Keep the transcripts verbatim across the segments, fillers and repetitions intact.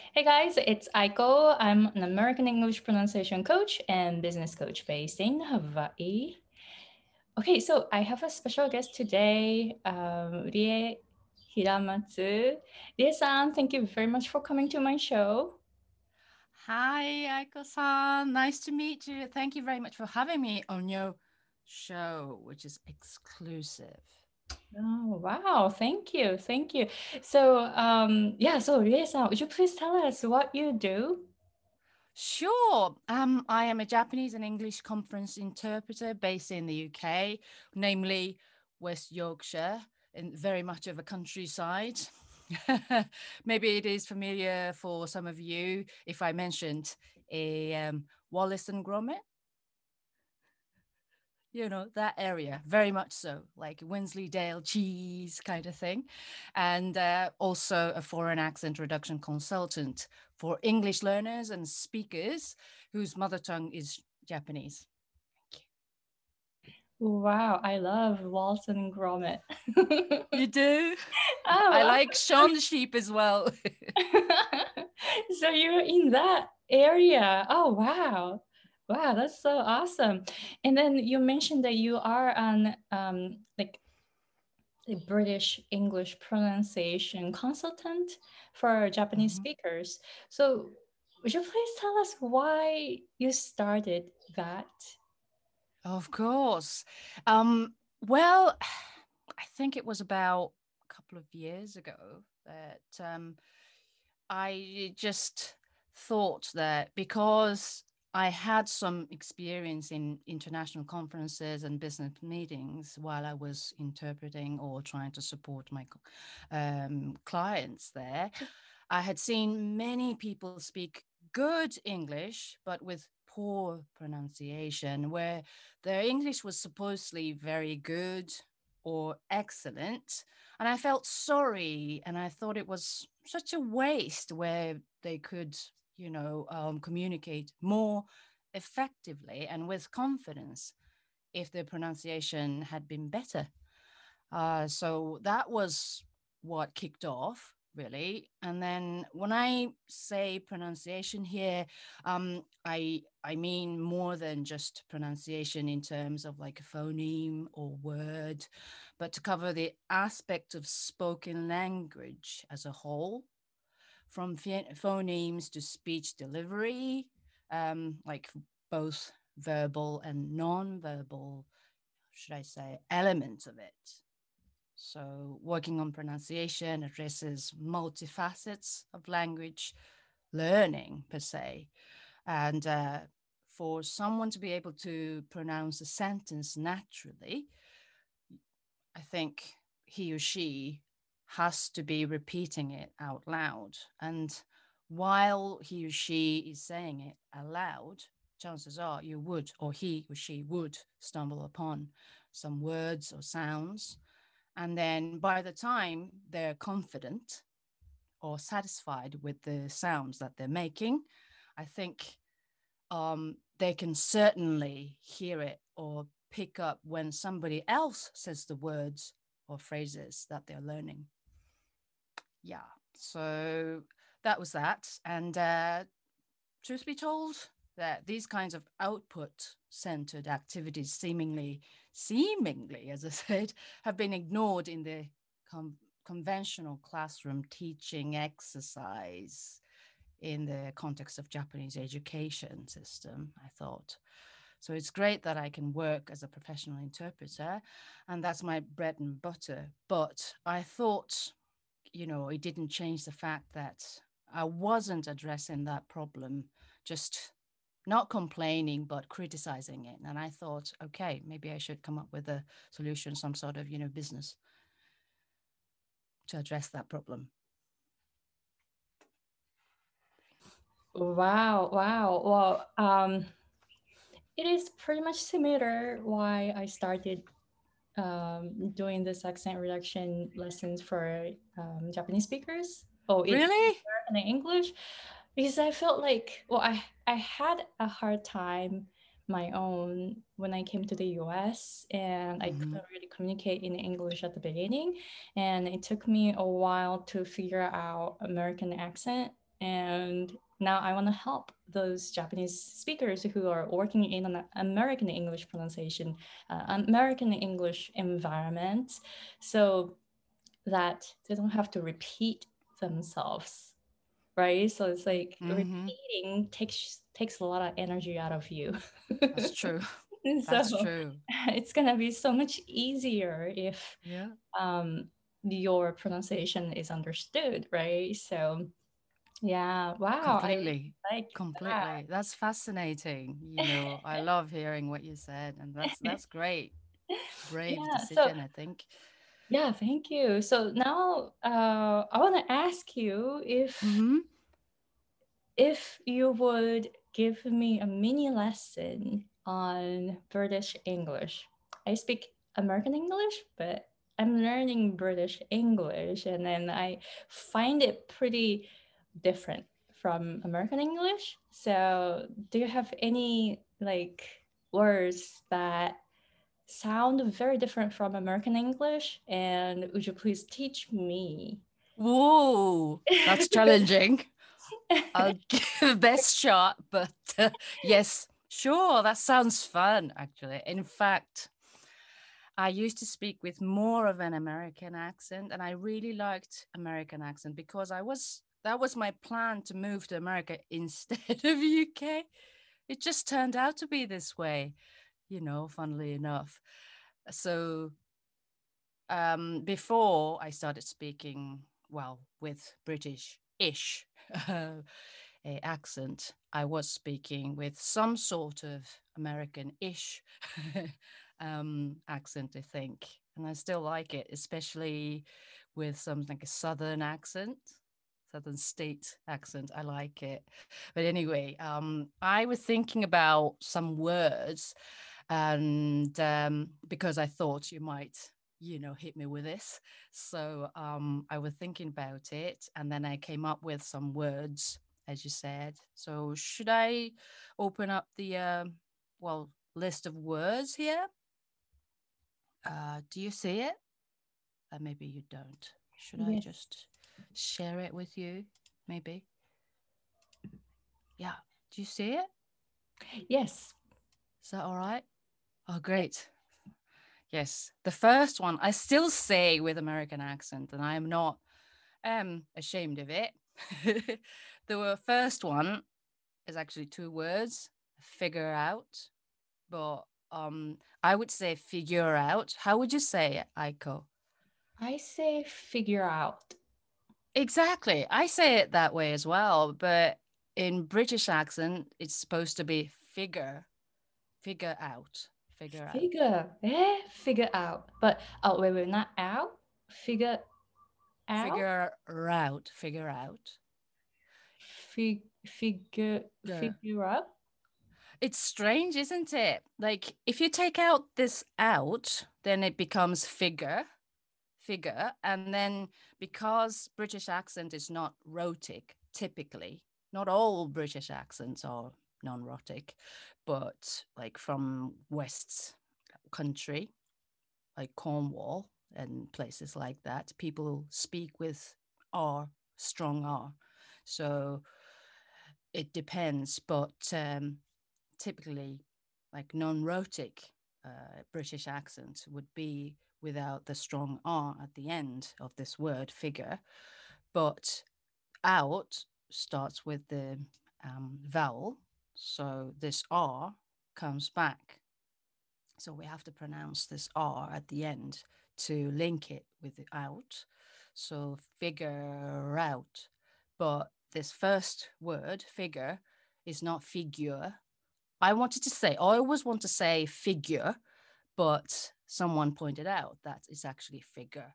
Hey guys, it's Aiko. I'm an American English pronunciation coach and business coach based in Hawaii. Okay, so I have a special guest today, um, Rie Hiramatsu. Rie-san, thank you very much for coming to my show. Hi, Aiko-san. Nice to meet you. Thank you very much for having me on your show, which is exclusive. Oh, wow. Thank you. Thank you. So, um, yeah, so Rie-san, would you please tell us what you do? Sure. Um, I am a Japanese and English conference interpreter based in the U K, namely West Yorkshire, in very much of a countryside. Maybe it is familiar for some of you if I mentioned a um, Wallace and Gromit. You know, that area, very much so, like Wensleydale cheese kind of thing. And uh, also a foreign accent reduction consultant for English learners and speakers whose mother tongue is Japanese. Thank Wow, I love Walton and Gromit. you. You do? I Oh, like Shaun the Sheep as well. so you're in that area. Oh, wow. Wow, that's so awesome. And then you mentioned that you are an um like a British English pronunciation consultant for Japanese Mhm. speakers. So would you please tell us why you started that? Of course. Um, well, I think it was about a couple of years ago that um, I just thought that because I had some experience in international conferences and business meetings while I was interpreting or trying to support my um, clients there, I had seen many people speak good English, but with poor pronunciation, where their English was supposedly very good or excellent. And I felt sorry. And I thought it was such a waste where they could, you know, um, communicate more effectively and with confidence if their pronunciation had been better. Uh, so that was what kicked off, really. And then when I say pronunciation here, um, I I mean more than just pronunciation in terms of like a phoneme or word, but to cover the aspect of spoken language as a whole, from ph- phonemes to speech delivery, um, like both verbal and non-verbal, should I say, elements of it. So, working on pronunciation addresses multifacets of language learning, per se. And uh, for someone to be able to pronounce a sentence naturally, I think he or she has to be repeating it out loud. And while he or she is saying it aloud, chances are you would, or he or she would, stumble upon some words or sounds. And then by the time they're confident or satisfied with the sounds that they're making, I think um, they can certainly hear it or pick up when somebody else says the words or phrases that they're learning. Yeah. So that was that. And uh, truth be told, that these kinds of output centered activities seemingly, seemingly, as I said, have been ignored in the com- conventional classroom teaching exercise in the context of Japanese education system, I thought. So it's great that I can work as a professional interpreter, and that's my bread and butter. But I thought, you know, it didn't change the fact that I wasn't addressing that problem, just not complaining, but criticizing it. And I thought, okay, maybe I should come up with a solution, some sort of, you know, business to address that problem. Wow, wow. Well, um, it is pretty much similar why I started um, doing this accent reduction lessons for um, Japanese speakers. Oh, in Really? American and English, because I felt like, well, I I had a hard time my own when I came to the U S and I Mm-hmm. couldn't really communicate in English at the beginning, and it took me a while to figure out American accent And now I want to help those Japanese speakers who are working in an American English pronunciation, uh, American English environment, so that they don't have to repeat themselves, right? So it's like Mm-hmm. repeating takes takes a lot of energy out of you. That's true. That's So true. it's gonna be so much easier if Yeah. um, your pronunciation is understood, right? So yeah, wow, I Completely. like Completely. That's fascinating. You know, I love hearing what you said, and that's that. that's great. Brave Yeah, so decision, I think. yeah, thank you. So now uh, I want to ask you if Mm-hmm. if you would give me a mini lesson on British English. I speak American English, but I'm learning British English, and then I find it pretty different from American English. So, do you have any like words that sound very different from American English? And would you please teach me? Whoa, that's challenging. I'll give best shot, but uh, yes, sure, that sounds fun, actually. In fact, I used to speak with more of an American accent, and I really liked American accent because I was that was my plan to move to America instead of U K. It just turned out to be this way, you know, funnily enough. So um, before I started speaking, well, with British-ish uh, accent, I was speaking with some sort of American-ish um, accent, I think, and I still like it, especially with some like a southern accent. Southern state accent. I like it. But anyway, um, I was thinking about some words, and um, because I thought you might, you know, hit me with this. So um, I was thinking about it, and then I came up with some words, as you said. So should I open up the, uh, well, list of words here? Uh, do you see it? Uh, maybe you don't. Should I Yes. just share it with you? Maybe. Yeah. Do you see it? Yes. Is that all right? Oh, great. Yes. The first one I still say with American accent, and I am not um ashamed of it. The first one is actually two words, figure out. But um I would say figure out. How would you say it, Aiko? I say figure out. Exactly. I say it that way as well, but in British accent, it's supposed to be figure, figure out, figure out, Figure, eh? Figure out. But oh wait, wait, not out. Figure out. figure out, figure out. Fig, figure, Figure. figure out. It's strange, isn't it? Like if you take out this out, then it becomes figure, figure, and then because British accent is not rhotic, typically, not all British accents are non-rhotic, but like from West country, like Cornwall and places like that, people speak with R, strong R. So it depends, but um, typically, like non-rhotic uh, British accent would be without the strong R at the end of this word figure, but out starts with the um, vowel, so this R comes back. So we have to pronounce this R at the end to link it with the out. So figure out. But this first word, figure, is not figure. I wanted to say, I always want to say figure, but someone pointed out that it's actually figure.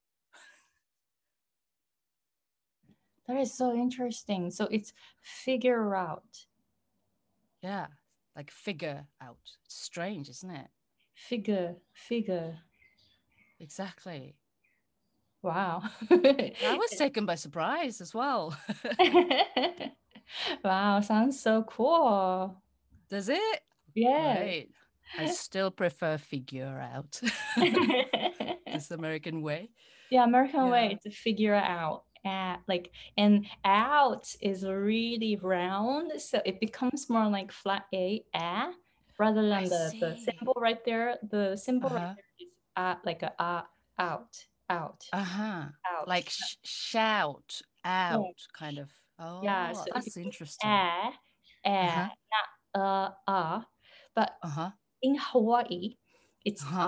That is so interesting. So it's figure out. Yeah, like figure out. It's strange, isn't it? Figure, figure. Exactly. Wow. I was taken by surprise as well. Wow, sounds so cool. Does it? Yeah. Great. I still prefer figure out this American way. Yeah, American Yeah. way to figure out. at, like, and out is really round, so it becomes more like flat a, ah, rather I than the the see. symbol right there. The symbol right Uh-huh. there is uh, like a ah, out, out, Uh-huh. out. Like sh- shout Yeah, out, kind of. yeah. Oh, So it that's becomes interesting. ah, ah, Uh-huh. not uh, ah. But Uh-huh. in Hawaii, it's Uh-huh. uh.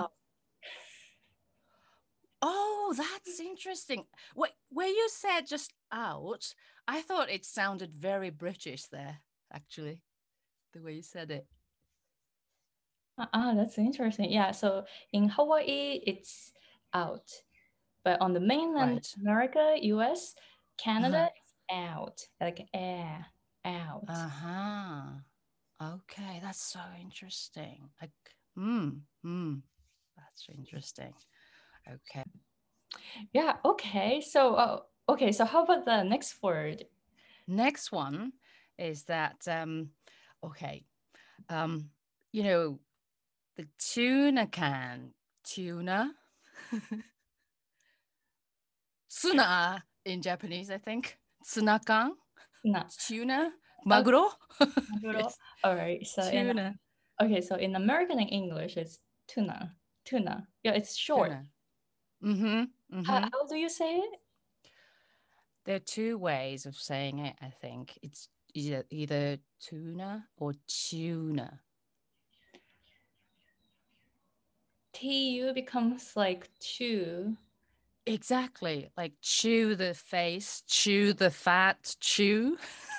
Oh, that's interesting. Wait, where you said just out, I thought it sounded very British there, actually, the way you said it. Ah, that's interesting. Yeah, so in Hawaii, it's out. But on the mainland Right. America, U S, Canada, Uh-huh. it's out, like air, out. Uh-huh. Okay, that's so interesting. Like, mm, mm, that's interesting. Okay. Yeah, okay. So, uh, okay, so how about the next word? Next one is that um, okay. Um, you know, the tuna can, tuna, tsuna in Japanese, I think. Tsunakan, Tuna. tuna, Okay, maguro. maguro. Yes, All right. So in tuna, okay, so in American and English, it's tuna. Tuna. Yeah, it's short. tuna. Mm-hmm. How, Mm-hmm. how do you say it? There are two ways of saying it, I think. It's either, either tuna or tuna. T U becomes like chew. Exactly. Like chew the face, chew the fat, chew.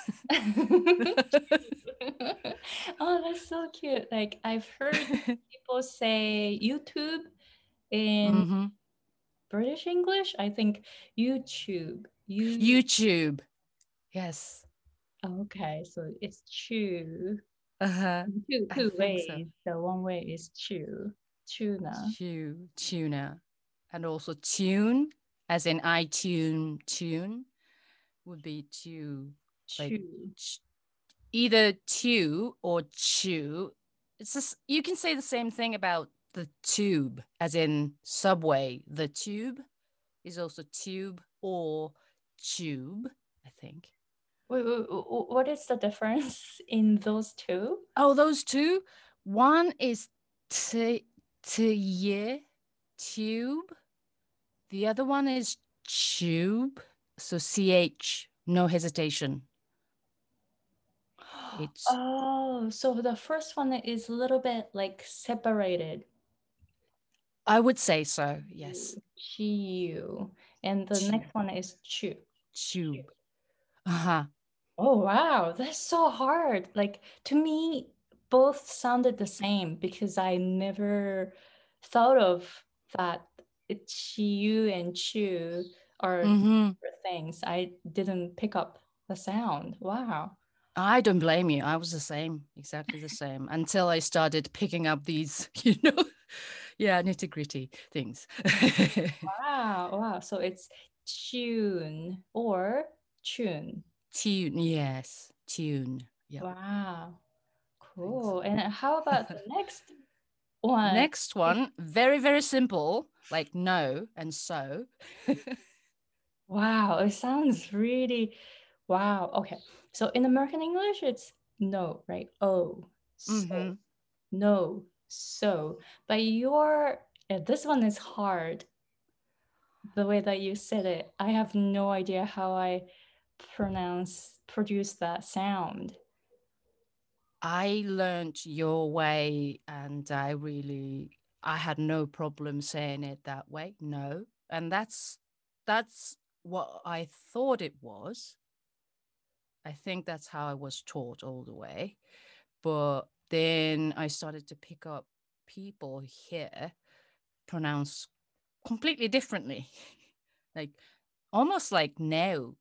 Oh, that's so cute. Like I've heard people say YouTube in Mm-hmm. British English. I think YouTube. You YouTube. Yes. okay, so it's chew. Uh-huh. Two I two think so. ways. The one way is chew. Tuna. Chew, tuna. And also tune, as in iTune tune, would be to like Chew. ch- either chew or chew. It's just you can say the same thing about the tube, as in subway. The tube is also tube or tube, I think. Wait, wait, wait, what is the difference in those two? Oh, those two. One is t t tube. The other one is tube. So C H, no hesitation. It's, Oh, so the first one is a little bit like separated. I would say so. Yes. Chew. And the Tube. next one is chew. Tube. Uh-huh. Oh, wow. That's so hard. Like, to me, both sounded the same because I never thought of that chew and chew are Mm-hmm. different things. I didn't pick up the sound. Wow. I don't blame you. I was the same, exactly the same, until I started picking up these, you know, yeah, nitty gritty things. Wow. Wow. So it's tune or tune. Tune, yes, tune. Yeah, Wow. I think so. Cool. And how about the next one? Next one, very, very simple, like no and so. Wow, it sounds really wow. Okay. So in American English, it's no, right? Oh, so Mm-hmm. no, so. But your uh, this one is hard. The way that you said it, I have no idea how I pronounce produce that sound. I learned your way and I really I had no problem saying it that way. No. And that's that's what I thought it was. I think that's how I was taught all the way. But then I started to pick up people here pronounce completely differently. Like almost like now.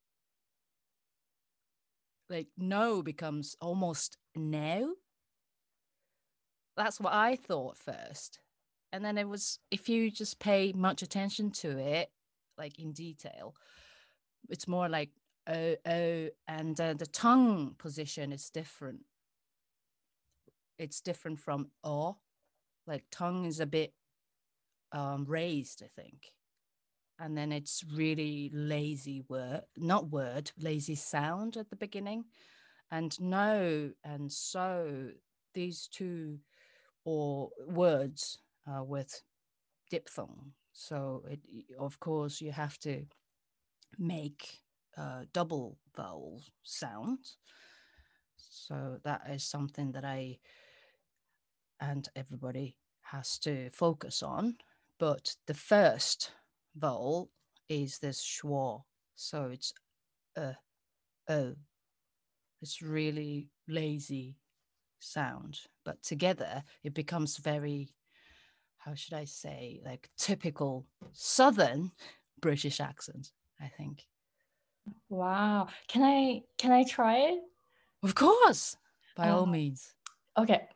Like no becomes almost now. That's what I thought first. And then it was, if you just pay much attention to it, like in detail, it's more like oh, oh, and uh, the tongue position is different. It's different from oh, like tongue is a bit um, raised, I think. and then it's really lazy word, not word, lazy sound at the beginning. And no and so, these two or words uh, with diphthong. So it, of course, you have to make uh, double vowel sounds. So that is something that I and everybody has to focus on. But the first vowel is this schwa. So it's uh, oh. It's really lazy sound. But together it becomes very, how should I say, like typical Southern British accent, I think. Wow. Can I can I try it? Of course, by Uh, all means. okay.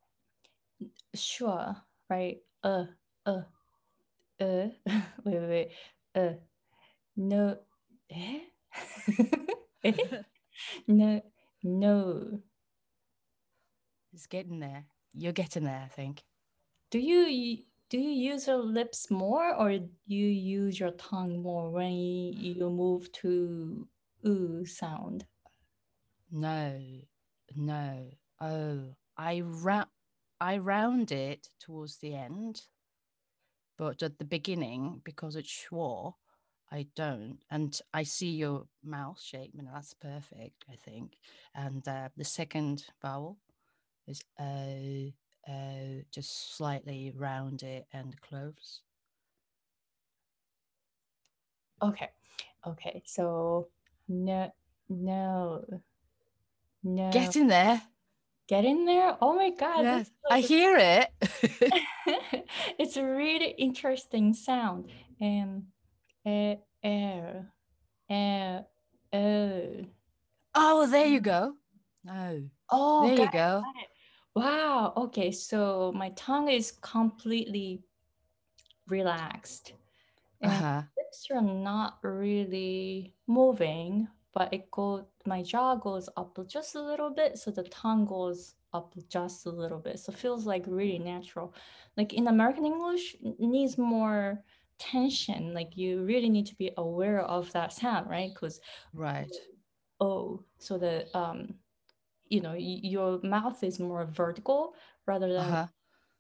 Sure. Right. Uh. Uh. Uh. wait. Wait. Wait. Uh. No. Eh? Eh? No. No. It's getting there. You're getting there, I think. Do you do you use your lips more or you use your tongue more when you, you move to oo sound? No, no. Oh, I ra- I round it towards the end, but at the beginning, because it's schwa, I don't. And I see your mouth shape, and that's perfect, I think. And uh, the second vowel is uh, uh, just slightly round it and close. Okay. Okay. So no, no, no. Get in there. Get in there. Oh my God. Yes, This I is hear it. it's a really interesting sound. And uh, air, air, oh. Oh, there you go. No, Oh, there got you it, go. got it. Wow. Okay. So my tongue is completely relaxed. And Uh-huh. lips are not really moving, but it goes, my jaw goes up just a little bit, so the tongue goes up just a little bit. So it feels like really natural. Like in American English, it needs more tension. Like you really need to be aware of that sound, right? Because Right. oh, so the um, you know, y- your mouth is more vertical rather than Uh-huh.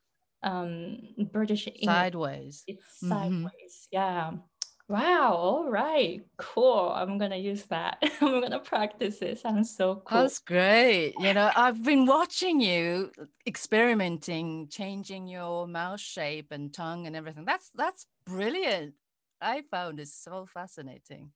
um British English. Sideways. It's Mm-hmm. sideways. Yeah. Wow. All right. Cool. I'm gonna use that. I'm gonna practice it. Sounds so cool. That's great. You know, I've been watching you experimenting, changing your mouth shape and tongue and everything. That's that's brilliant. I found it so fascinating.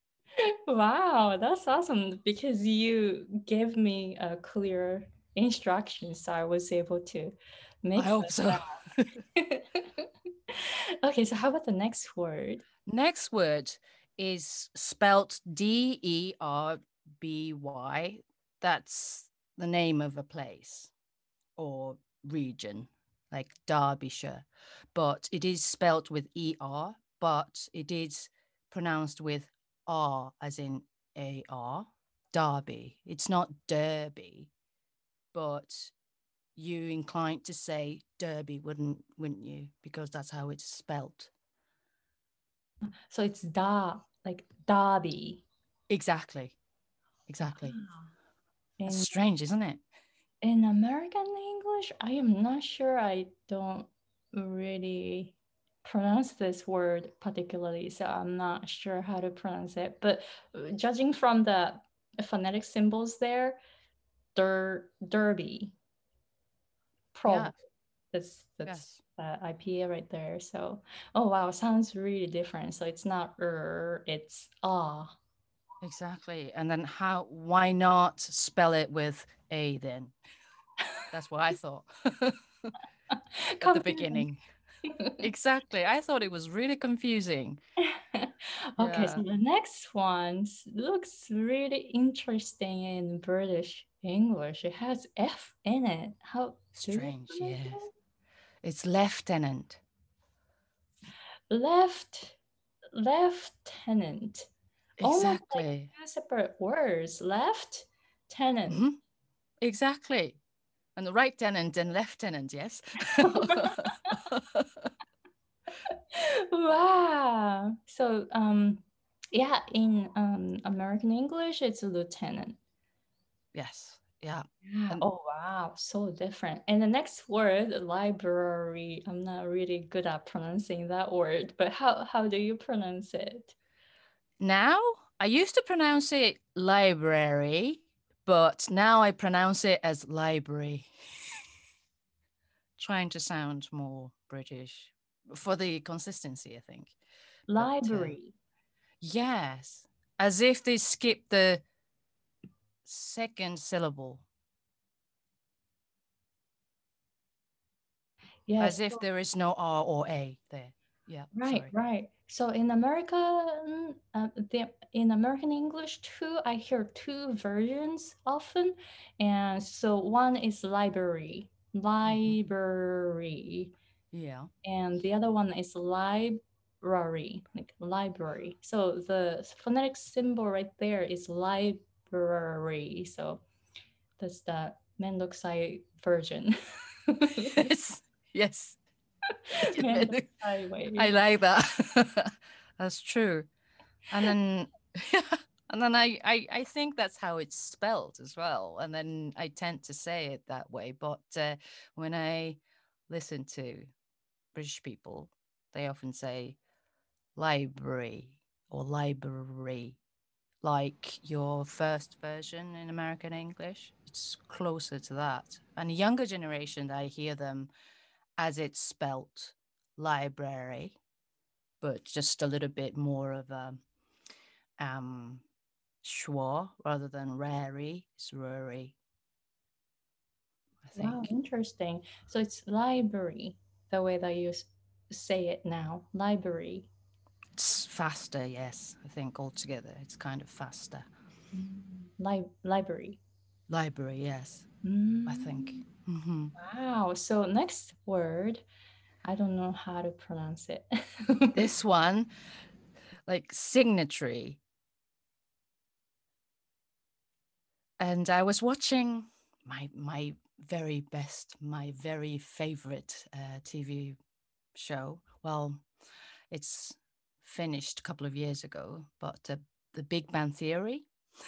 Wow, that's awesome because you gave me a clear instruction, so I was able to I make hope so. that. Okay, so how about the next word? Next word is spelt D E R B Y. That's the name of a place or region, like Derbyshire. But it is spelt with E R, but it is pronounced with R, as in A R. Derby. It's not Derby, but you inclined to say Derby, wouldn't wouldn't you? Because that's how it's spelt. So it's da, like Derby. Exactly. Exactly. Wow. That's In strange, isn't it? in American English, I am not sure. I don't really pronounce this word particularly, so I'm not sure how to pronounce it. But uh, judging from the phonetic symbols there, der derby, Yeah. probably that's that's Yes. uh, I P A right there. So, oh wow, sounds really different. So it's not er, it's ah. Exactly. And then how why not spell it with A then? That's what I thought at the Confusing. beginning. Exactly. I thought it was really confusing. Okay, so Yeah. the next one s- looks really interesting in British English. It has F in it. How do you Strange. pronounce Yes. it? It's lieutenant. Left, lieutenant. Almost like Exactly. two separate words. Left, tenant. Hmm. Exactly. And the right tenant and lieutenant, yes. Wow. So um yeah, in um American English it's a lieutenant. Yes. Yeah. Yeah. And Oh wow, so different. And the next word, library. I'm not really good at pronouncing that word, but how how do you pronounce it? now I used to pronounce it library, but now I pronounce it as library, trying to sound more British for the consistency, I think. But uh, Library. yes, as if they skipped the second syllable, as Yes. if there is no R or A there. Yeah, Right, sorry. right. So in American, uh, the, in American English too, I hear two versions often, and so one is library, Mhm. library, Yeah. and the other one is library, like library. So the phonetic symbol right there is library. So that's the Mendokusai version. Yes. Yes. Mendokusai I way. like that. That's true. And then and then I, I I think that's how it's spelled as well. And then I tend to say it that way. But uh, when I listen to British people, they often say library or library, like your first version in American English. It's closer to that. And a younger generation, I hear them as it's spelt library, but just a little bit more of a um schwa rather than rary. It's rary, I Wow, think. interesting. So it's library, the way that you s- say it now, library. It's faster, yes. I think altogether it's kind of faster. Mm, Li- library. Library, yes, I think. Mm, Hmm. wow. So next word, I don't know how to pronounce it. This one, like signatory. And I was watching my my very best, my very favorite uh, T V show. Well, it's finished a couple of years ago, but uh, The Big Bang Theory.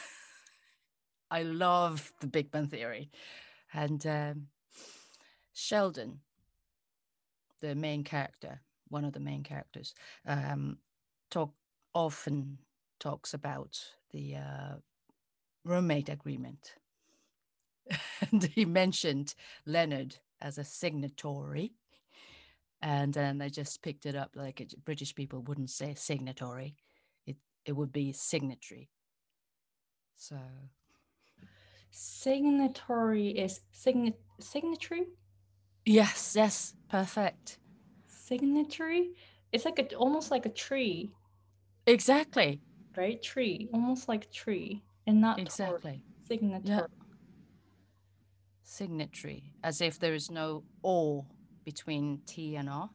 I love The Big Bang Theory, and um, Sheldon, the main character, one of the main characters, um, talk often talks about the uh, roommate agreement. And he mentioned Leonard as a signatory. And then I just picked it up like it, British people wouldn't say signatory. It it would be signatory. So Signatory is sign signatory? yes, yes, perfect. Signatory? It's like a almost like a tree, Exactly. right? Tree, almost like tree, and not tor. Exactly. Yeah. Signatory. Signatory. As if there is no or between T and R.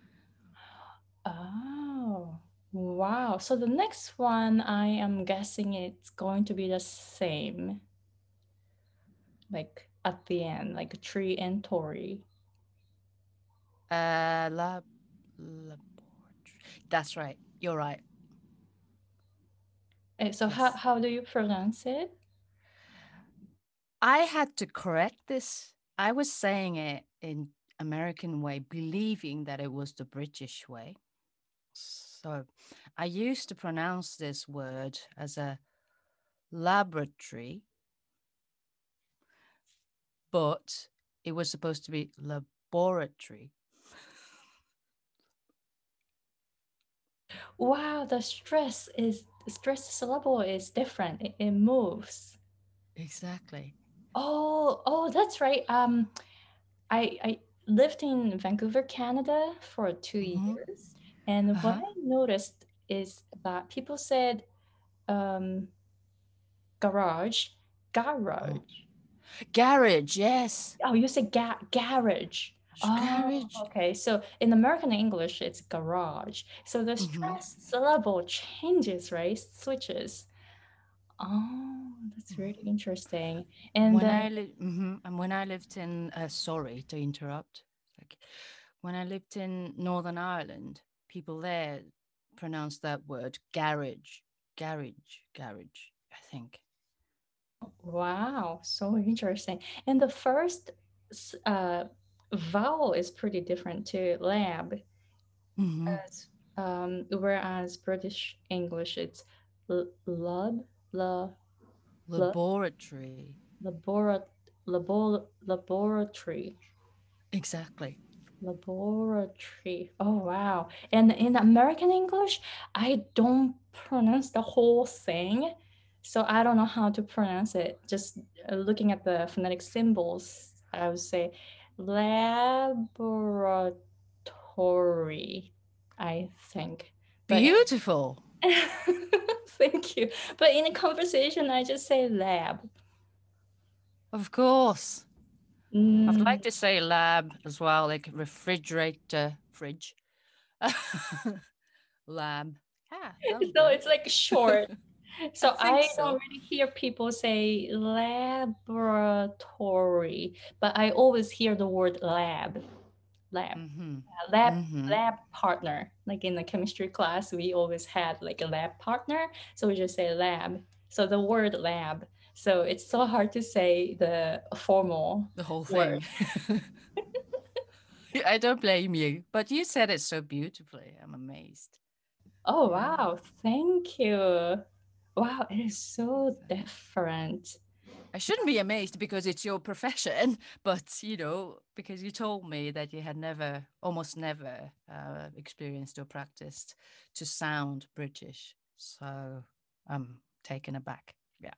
Oh, wow. So the next one, I am guessing it's going to be the same, like at the end, like a tree and Tory. Uh lab laboratory. That's right. You're right. Eh, So how, Yes. how do you pronounce it? I had to correct this. I was saying it in American way, believing that it was the British way. So I used to pronounce this word as a laboratory, but it was supposed to be laboratory. Wow, the stress is stress syllable is different. It, it moves. Exactly. Oh, oh, that's right. Um, I I lived in Vancouver, Canada for two Mm-hmm. years, and what Uh-huh. I noticed is that people said um garage, Oh. garage. Garage, yes. Oh, you say ga garage. Oh, Garage. okay. So in American English, it's garage. So the Mm-hmm. stress syllable changes, right? Switches. Oh, that's really interesting. And When then, I lived, mm-hmm. and when I lived in, uh, sorry to interrupt, like when I lived in Northern Ireland, people there pronounce that word garage, garage, garage, I think. Wow, so interesting. And the first s- uh, vowel is pretty different to lab, Mm-hmm. as um, whereas British English it's l- lab, la, la, Laboratory. labora, labor, laboratory. Exactly. Laboratory. Oh, wow. And in American English, I don't pronounce the whole thing. So I don't know how to pronounce it. Just uh, looking at the phonetic symbols, I would say laboratory, I think. But Beautiful. thank you. But in a conversation, I just say lab. Of course. I would Mm. like to say lab as well, like refrigerator, fridge. Lab. Yeah, that'll So do. it's like short. I So think I don't so. really hear people say laboratory, but I always hear the word lab. Lab. Mm-hmm. Uh, Lab Mm-hmm. lab partner. Like in the chemistry class, we always had like a lab partner. So we just say lab. So the word lab. So it's so hard to say the formal The whole word. thing. I don't blame you, but you said it so beautifully. I'm amazed. Oh Yeah. wow, thank you. Wow, it is so So different. I shouldn't be amazed because it's your profession, but you know, because you told me that you had never, almost never, uh, experienced or practiced to sound British. So I'm taken aback. Yeah.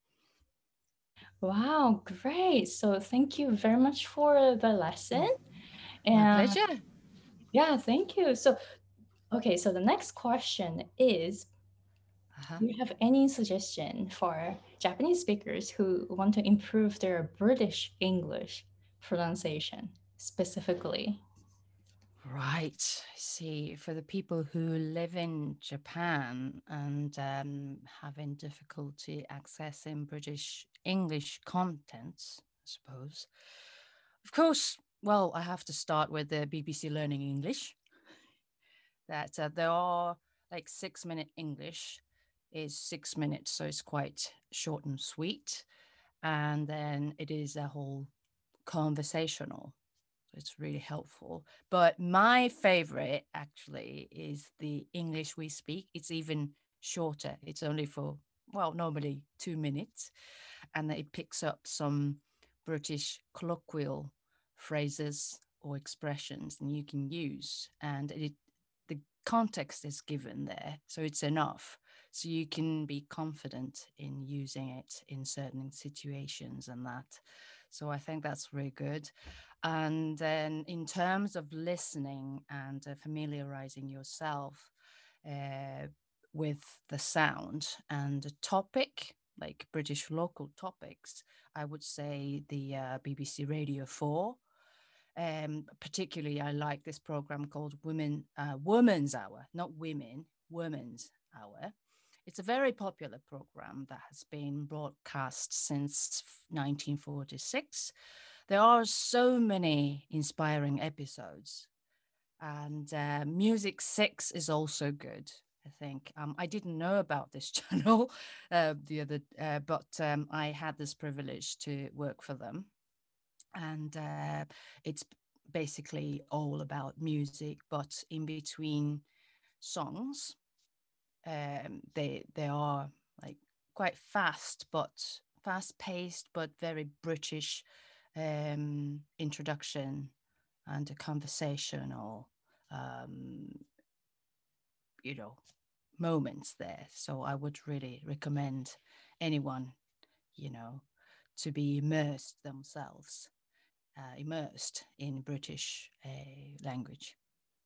Wow, great. So thank you very much for the lesson. My And pleasure. yeah, thank you. So, okay, so the next question is, Uh-huh. do you have any suggestion for Japanese speakers who want to improve their British English pronunciation specifically? Right. I see. For the people who live in Japan and um, having difficulty accessing British English content, I suppose. Of course, well, I have to start with the B B C Learning English. That uh, there are like six minute English is six minutes, so it's quite short and sweet. And then it is a whole conversational. It's really helpful. But my favorite actually is the English we speak. It's even shorter. It's only for, well, normally two minutes. And it picks up some British colloquial phrases or expressions and you can use. And it the context is given there. So it's enough. So you can be confident in using it in certain situations and that. So I think that's really good. And then in terms of listening and uh, familiarizing yourself uh, with the sound and the topic, like British local topics, I would say the uh, B B C Radio four. Um, particularly, I like this program called Women uh, Women's Hour, not Women, Women's Hour. It's a very popular program that has been broadcast since nineteen forty-six. There are so many inspiring episodes, and uh, Music Six is also good. I think um, I didn't know about this channel uh, the other, uh, but um, I had this privilege to work for them, and uh, it's basically all about music, but in between songs, um, they they are like quite fast, but fast paced, but very British um, introduction and a conversational, um, you know, moments there. So I would really recommend anyone, you know, to be immersed themselves, uh, immersed in British uh, language.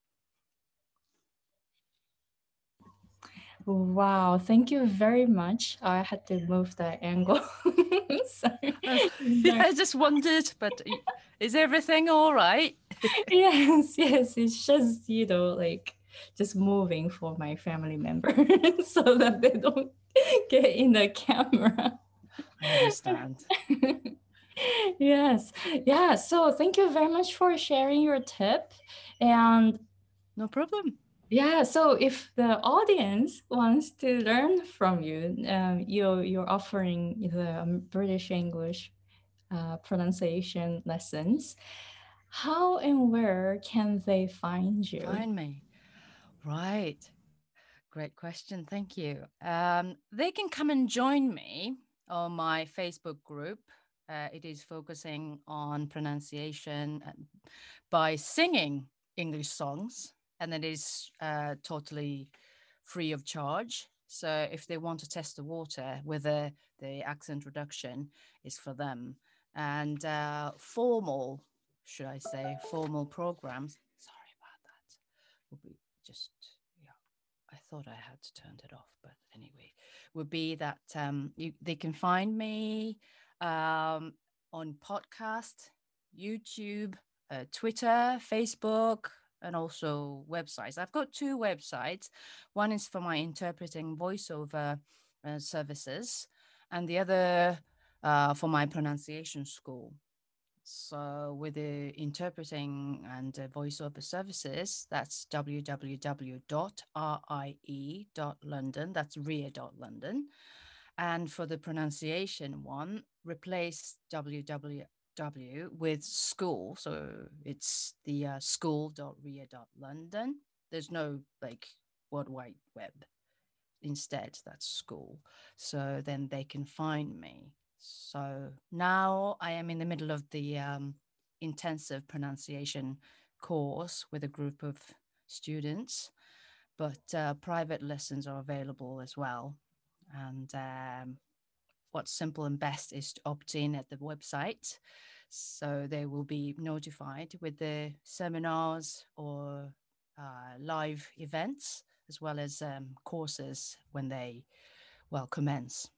Wow, thank you very much. I had to move the angle. Sorry. Uh, yeah, I just wondered, but is everything all right? Yes, yes, it's just, you know, like just moving for my family member so that they don't get in the camera. I understand. Yes. Yeah. So thank you very much for sharing your tip. And No problem. Yeah, so if the audience wants to learn from you, um, you you're offering the um, British English uh, pronunciation lessons. How and where can they find you? Find me. Right. Great question. Thank you. Um, they can come and join me on my Facebook group. Uh, it is focusing on pronunciation uh, by singing English songs, and it is uh, totally free of charge. So if they want to test the water, whether the accent reduction is for them, and uh, formal, should I say, formal programs. Sorry about that. Will be just yeah. I thought I had turned it off, but anyway, would be that um, you, they can find me um, on podcast, YouTube, uh, Twitter, Facebook, and also websites. I've got two websites. One is for my interpreting voiceover uh, services, and the other uh, for my pronunciation school. So with the interpreting and uh, voiceover services, that's w w w dot rie dot london. That's ria dot london. And for the pronunciation one, replace www with school. So it's the uh, school dot ria dot london. There's no like World Wide Web. Instead, that's school. So then they can find me. So now I am in the middle of the um, intensive pronunciation course with a group of students, but uh, private lessons are available as well. And um, what's simple and best is to opt in at the website. So they will be notified with the seminars or uh, live events, as well as um, courses when they, well, commence.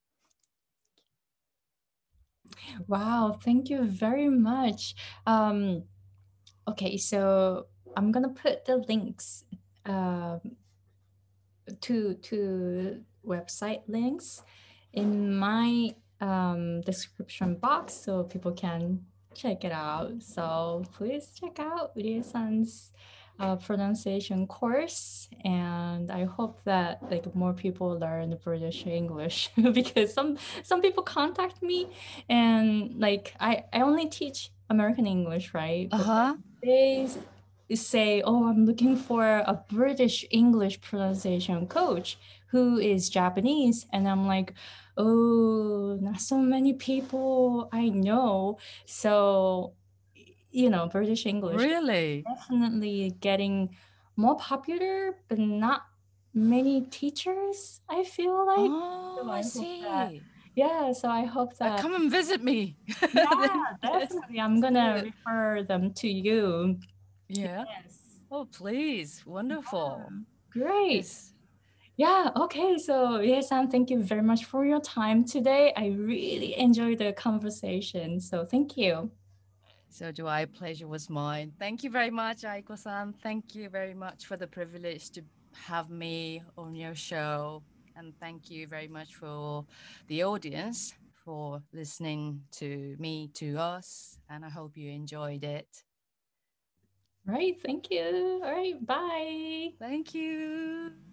Wow, thank you very much. Um, okay, so I'm gonna put the links um, to to website links in my um, description box so people can check it out. So please check out Rie-san's uh, pronunciation course, and I hope that like more people learn British English because some some people contact me and like I I only teach American English, right? Uh But then huh. they say, "Oh, I'm looking for a British English pronunciation coach who is Japanese." And I'm like, "Oh, not so many people I know." So, you know, British English is Really? definitely getting more popular, but not many teachers, I feel like. Oh, So I I hope that, see. yeah, so I hope Uh, that, come and visit me. yeah, Let's, definitely. I'm let's do gonna it. refer them to you. Yeah. Yes. Oh, please. Wonderful. Great. Yes. Yeah, okay. So, yes, Sam, thank you very much for your time today. I really enjoyed the conversation. So, thank you. So do I. Pleasure was mine. Thank you very much, Aiko-san. Thank you very much for the privilege to have me on your show. And thank you very much for the audience for listening to me, to us. And I hope you enjoyed it. Right. Thank you. All right. Bye. Thank you.